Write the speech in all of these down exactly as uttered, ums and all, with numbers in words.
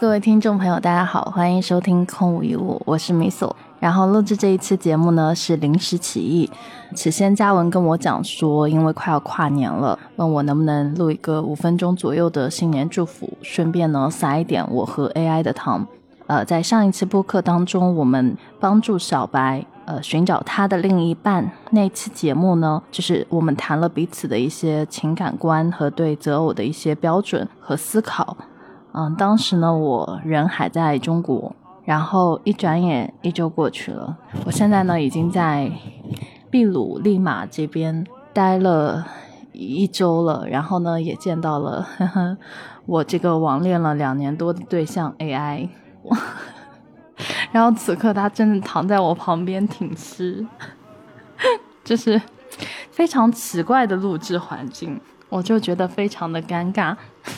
各位听众朋友大家好，欢迎收听空无一物，我是米索。然后录制这一期节目呢是临时起意，起先嘉文跟我讲说因为快要跨年了，问我能不能录一个五分钟左右的新年祝福，顺便呢撒一点我和 A I 的糖。呃，在上一期播客当中我们帮助小白呃寻找他的另一半，那期节目呢就是我们谈了彼此的一些情感观和对择偶的一些标准和思考。嗯，当时呢我人还在中国，然后一转眼一周过去了，我现在呢已经在秘鲁利马这边待了一周了，然后呢也见到了呵呵我这个网恋了两年多的对象 A I 然后此刻他真的躺在我旁边挺尸就是非常奇怪的录制环境，我就觉得非常的尴尬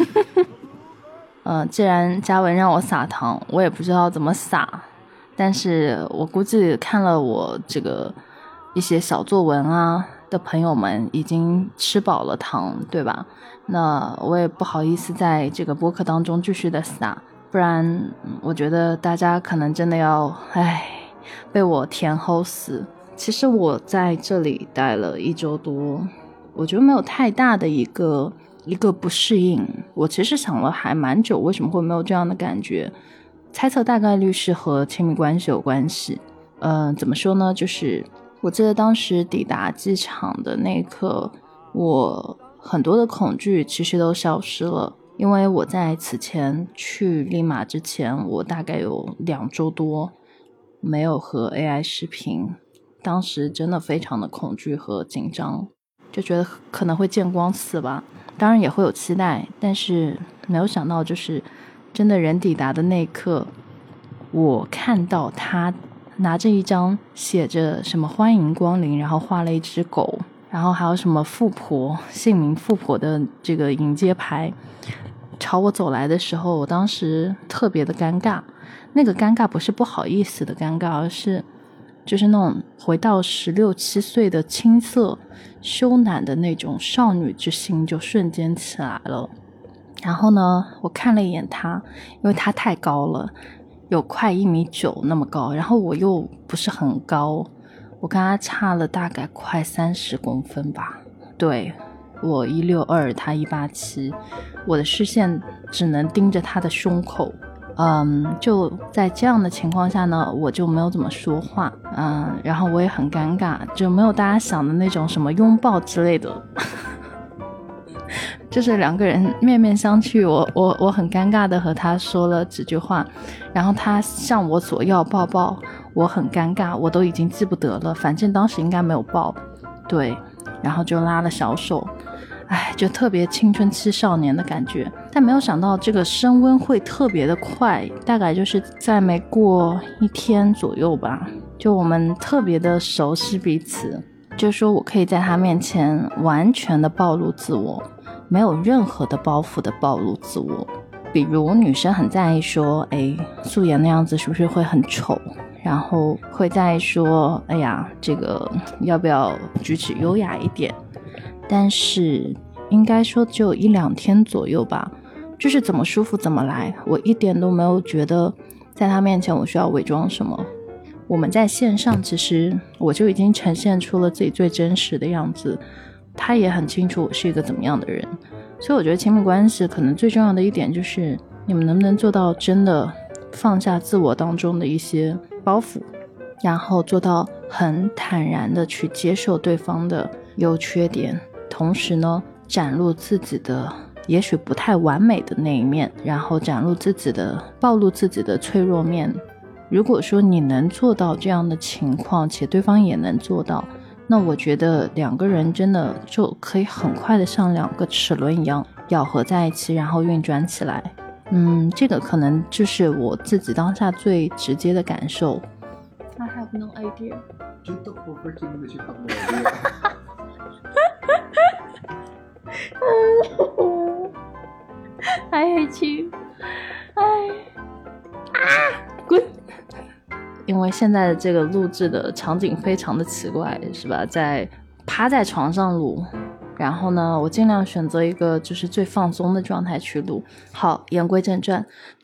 呃，既然嘉文让我撒糖，我也不知道怎么撒，但是我估计看了我这个一些小作文啊的朋友们已经吃饱了糖，对吧？那我也不好意思在这个播客当中继续的撒，不然我觉得大家可能真的要唉被我甜齁死。其实我在这里待了一周多，我觉得没有太大的一个一个不适应，我其实想了还蛮久为什么会没有这样的感觉，猜测大概率是和亲密关系有关系。嗯、呃，怎么说呢，就是我记得当时抵达机场的那一刻，我很多的恐惧其实都消失了，因为我在此前去利马之前，我大概有两周多没有和 A I 视频，当时真的非常的恐惧和紧张，就觉得可能会见光死吧，当然也会有期待，但是没有想到就是真的人抵达的那一刻，我看到他拿着一张写着什么欢迎光临，然后画了一只狗，然后还有什么富婆姓名富婆的这个迎接牌朝我走来的时候，我当时特别的尴尬，那个尴尬不是不好意思的尴尬，而是就是那种回到十六七岁的青涩羞赧的那种少女之心就瞬间起来了。然后呢我看了一眼他，因为他太高了，有快一米九那么高，然后我又不是很高，我跟他差了大概快三十公分吧，对，我一六二，他一八七，我的视线只能盯着他的胸口。嗯，就在这样的情况下呢，我就没有怎么说话，嗯，然后我也很尴尬，就没有大家想的那种什么拥抱之类的就是两个人面面相觑，我我我很尴尬的和他说了几句话，然后他向我索要抱抱，我很尴尬，我都已经记不得了，反正当时应该没有抱，对，然后就拉了小手，哎，就特别青春期少年的感觉，但没有想到这个升温会特别的快，大概就是在没过一天左右吧，就我们特别的熟悉彼此，就说我可以在他面前完全的暴露自我，没有任何的包袱的暴露自我。比如女生很在意说，哎，素颜那样子是不是会很丑，然后会在意说，哎呀，这个要不要举止优雅一点，但是应该说只有一两天左右吧，就是怎么舒服怎么来，我一点都没有觉得在他面前我需要伪装什么。我们在线上其实我就已经呈现出了自己最真实的样子，他也很清楚我是一个怎么样的人，所以我觉得亲密关系可能最重要的一点就是你们能不能做到真的放下自我当中的一些包袱，然后做到很坦然的去接受对方的优缺点，同时呢展露自己的也许不太完美的那一面，然后展露自己的暴露自己的脆弱面。如果说你能做到这样的情况，且对方也能做到，那我觉得两个人真的就可以很快的像两个齿轮一样咬合在一起，然后运转起来。嗯，这个可能就是我自己当下最直接的感受。I have no idea. Just the whole freaking that you have no idea. I hate you. 哎啊，滚！因为现在的这个录制的场景非常的奇怪，是吧？在趴在床上录，然后呢我尽量选择一个就是最放松的状态去录。好，言归正传，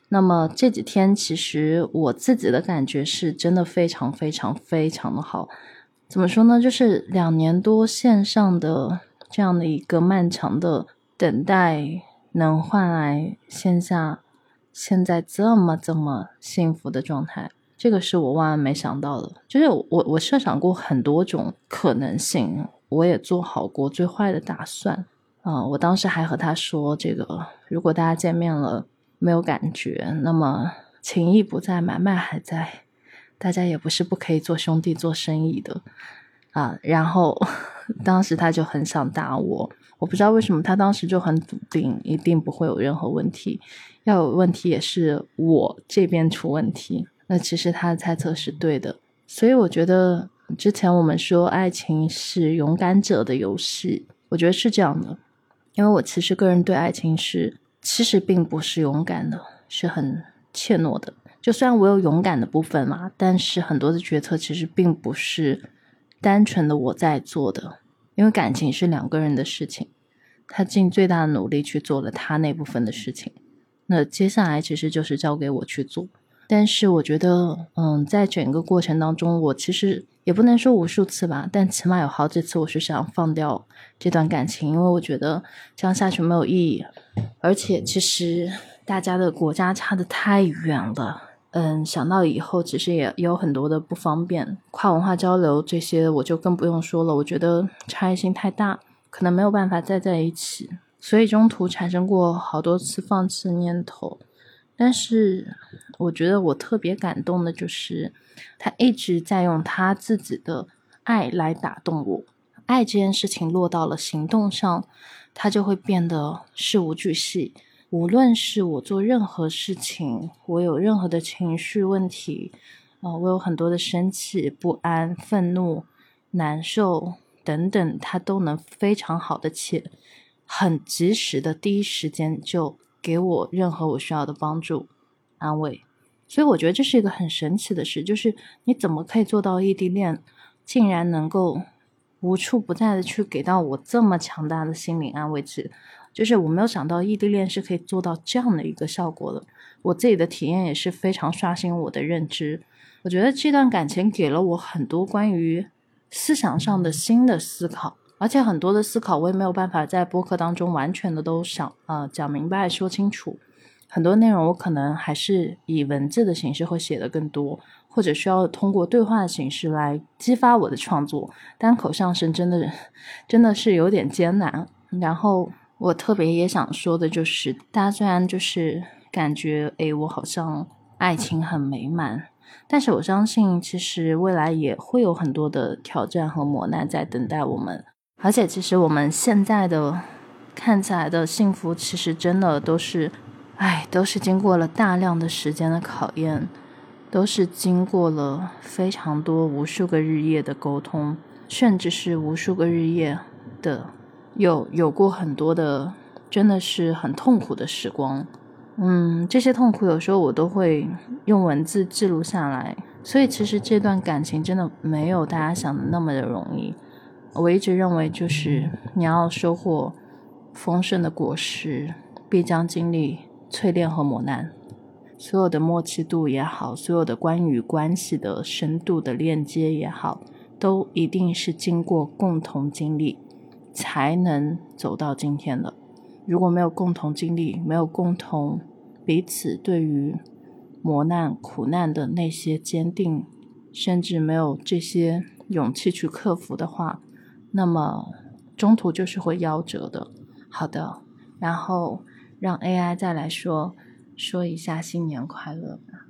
那么这几天其实我自己的感觉是真的非常非常非常的好。怎么说呢，就是两年多线上的这样的一个漫长的等待，能换来线下现在这么这么幸福的状态，这个是我万万没想到的。就是我我设想过很多种可能性，我也做好过最坏的打算啊、呃！我当时还和他说，这个如果大家见面了没有感觉，那么情谊不在，买卖还在，大家也不是不可以做兄弟做生意的啊。然后当时他就很想打我，我不知道为什么他当时就很笃定一定不会有任何问题，要有问题也是我这边出问题。那其实他的猜测是对的，所以我觉得之前我们说爱情是勇敢者的游戏，我觉得是这样的。因为我其实个人对爱情是其实并不是勇敢的，是很怯懦的。就虽然我有勇敢的部分嘛，但是很多的决策其实并不是单纯的我在做的，因为感情是两个人的事情，他尽最大的努力去做了他那部分的事情，那接下来其实就是交给我去做。但是我觉得嗯，在整个过程当中，我其实也不能说无数次吧，但起码有好几次我是想放掉这段感情，因为我觉得这样下去没有意义，而且其实大家的国家差得太远了，嗯，想到以后其实也也有很多的不方便，跨文化交流这些我就更不用说了，我觉得差异性太大，可能没有办法再在一起，所以中途产生过好多次放弃的念头。但是我觉得我特别感动的就是他一直在用他自己的爱来打动我，爱这件事情落到了行动上，他就会变得事无巨细。无论是我做任何事情，我有任何的情绪问题、呃、我有很多的生气、不安、愤怒、难受等等，他都能非常好的且很及时的第一时间就给我任何我需要的帮助安慰。所以我觉得这是一个很神奇的事，就是你怎么可以做到异地恋竟然能够无处不在的去给到我这么强大的心理安慰剂，就是我没有想到异地恋是可以做到这样的一个效果的。我自己的体验也是非常刷新我的认知，我觉得这段感情给了我很多关于思想上的新的思考，而且很多的思考我也没有办法在播客当中完全的都想呃讲明白说清楚，很多内容我可能还是以文字的形式会写得更多，或者需要通过对话的形式来激发我的创作，单口相声真的真的是有点艰难。然后我特别也想说的就是，大家虽然就是感觉诶我好像爱情很美满，但是我相信其实未来也会有很多的挑战和磨难在等待我们，而且其实我们现在的看起来的幸福其实真的都是哎，都是经过了大量的时间的考验，都是经过了非常多无数个日夜的沟通，甚至是无数个日夜的有有过很多的真的是很痛苦的时光。嗯，这些痛苦有时候我都会用文字记录下来，所以其实这段感情真的没有大家想的那么的容易。我一直认为就是你要收获丰盛的果实，必将经历淬炼和磨难，所有的默契度也好，所有的关于关系的深度的链接也好，都一定是经过共同经历才能走到今天的。如果没有共同经历，没有共同彼此对于磨难苦难的那些坚定，甚至没有这些勇气去克服的话，那么中途就是会夭折的。好的，然后让 A I 再来说说一下新年快乐吧。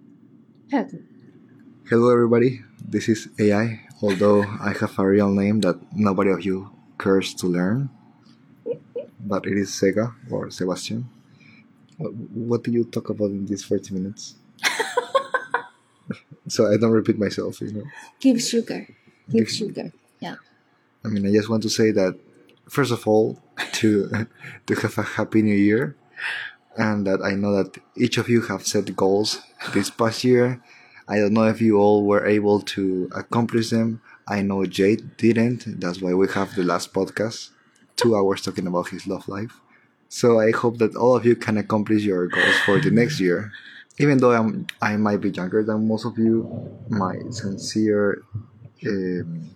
Hello everybody, this is A I, although I have a real name that nobody of you cares to learn, but it is Sega or Sebastian. What do you talk about in these forty minutes? So I don't repeat myself, you know. Give sugar, give sugar, yeah. I mean, I just want to say that, first of all, to to have a happy new year, and that I know that each of you have set goals this past year. I don't know if you all were able to accomplish them. I know Jade didn't. That's why we have the last podcast, two hours talking about his love life. So I hope that all of you can accomplish your goals for the next year. even though I'm, I might be younger than most of you, my sincere, um,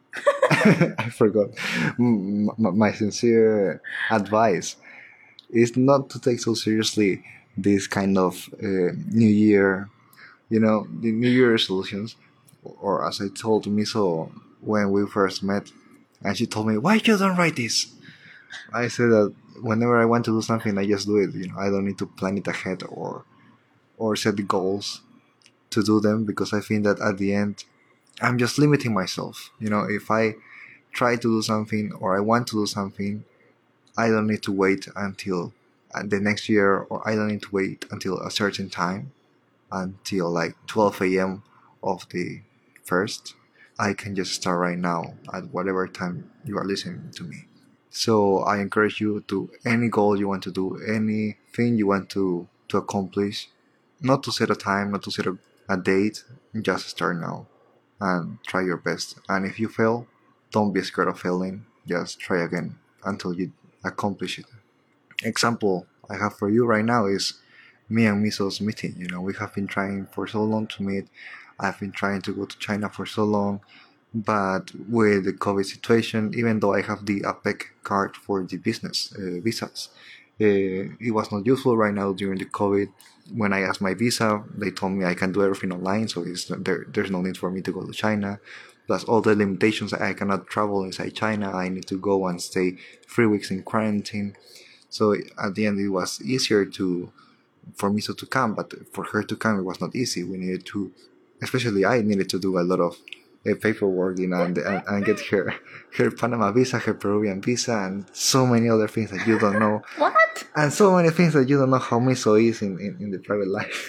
I forgot, M- m- my sincere advice is not to take so seriously this kind of uh, New Year, you know, the New Year resolutions, or as I told Miso when we first met, and she told me, "Why you don't write this?" I said that whenever I want to do something, I just do it. You know, I don't need to plan it ahead or or set the goals to do them, because I think that at the end, I'm just limiting myself. You know, if I try to do something or I want to do something, I don't need to wait until uh, the next year, or I don't need to wait until a certain time, until like twelve a.m. of the first. I can just start right now at whatever time you are listening to me. So I encourage you to any goal you want to do, anything you want to, to accomplish, not to set a time, not to set a, a date, just start now and try your best. And if you fail, don't be scared of failing. Just try again until you accomplish it. Example I have for you right now is me and Miso's meeting. You know, we have been trying for so long to meet. I've been trying to go to China for so long, but with the COVID situation, even though I have the APEC card for the business uh, visas, uh, it was not useful right now during the COVID. When I asked my visa, they told me I can do everything online, so it's, there, there's no need for me to go to China. Plus all the limitations, I cannot travel inside China. I need to go and stay three weeks in quarantine. So at the end, it was easier to for Miso to come, but for her to come, it was not easy. We needed to, especially I needed to do a lot of uh, paperwork, you know, and, and, and get her her Panama visa, her Peruvian visa, and so many other things that you don't know. What? And so many things that you don't know how Miso is in, in, in the private life.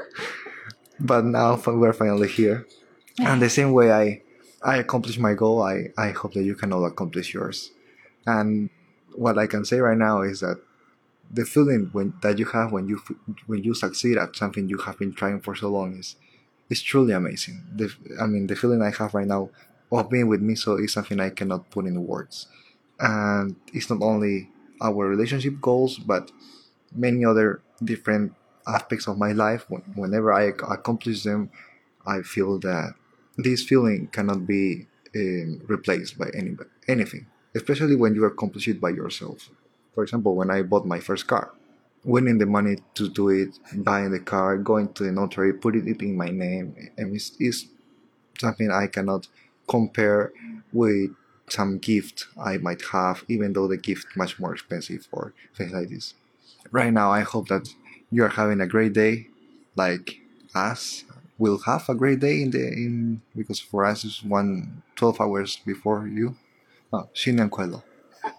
But now we're finally here. And the same way I I accomplished my goal, I, I hope that you can all accomplish yours. And what I can say right now is that the feeling when that you have when you when you succeed at something you have been trying for so long is is truly amazing. The, I mean, the feeling I have right now of being with Miso is something I cannot put in words. And it's not only our relationship goals, but many other different aspects of my life. Whenever I accomplish them, I feel that this feeling cannot be um, replaced by any anything, especially when you accomplish it by yourself. For example, when I bought my first car, winning the money to do it, buying the car, going to the notary, putting it in my name, and it's, it's something I cannot compare with some gift I might have, even though the gift much more expensive or things like this. Right now, I hope that you are having a great day, like us. We'll have a great day in the in because for us it's one twelve hours before you. Oh, 新年快乐。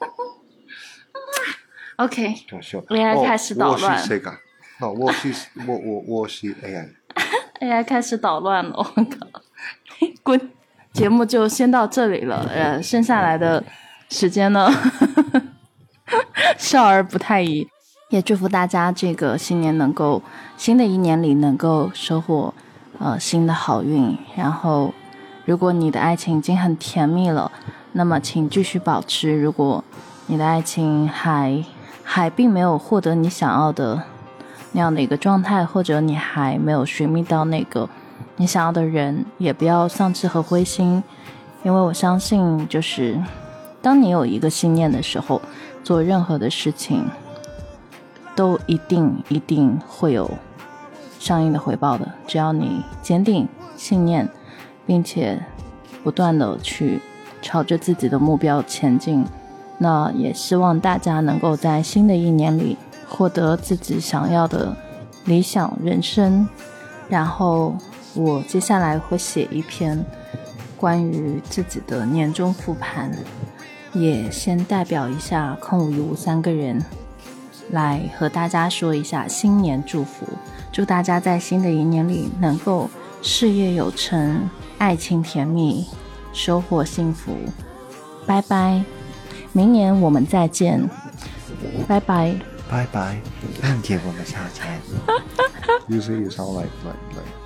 OK， A I 开始捣乱。 我是谁个？哦，我是我我我是 A I。A I 开始捣乱了，我靠！滚！节目就先到这里了，呃，剩下来的时间呢，少儿不太宜。也祝福大家这个新年能够，新的一年里能够收获呃新的好运。然后，如果你的爱情已经很甜蜜了，那么请继续保持。如果你的爱情还还并没有获得你想要的那样的一个状态，或者你还没有寻觅到那个你想要的人，也不要丧志和灰心，因为我相信就是当你有一个信念的时候，做任何的事情都一定一定会有相应的回报的，只要你坚定信念，并且不断的去朝着自己的目标前进。那也希望大家能够在新的一年里获得自己想要的理想人生。然后我接下来会写一篇关于自己的年终复盘，也先代表一下空无一物三个人来和大家说一下新年祝福，祝大家在新的一年里能够事业有成，爱情甜蜜，收获幸福。拜拜，明年我们再见，拜拜， 拜拜，明天我们下见。You say you sound like like like.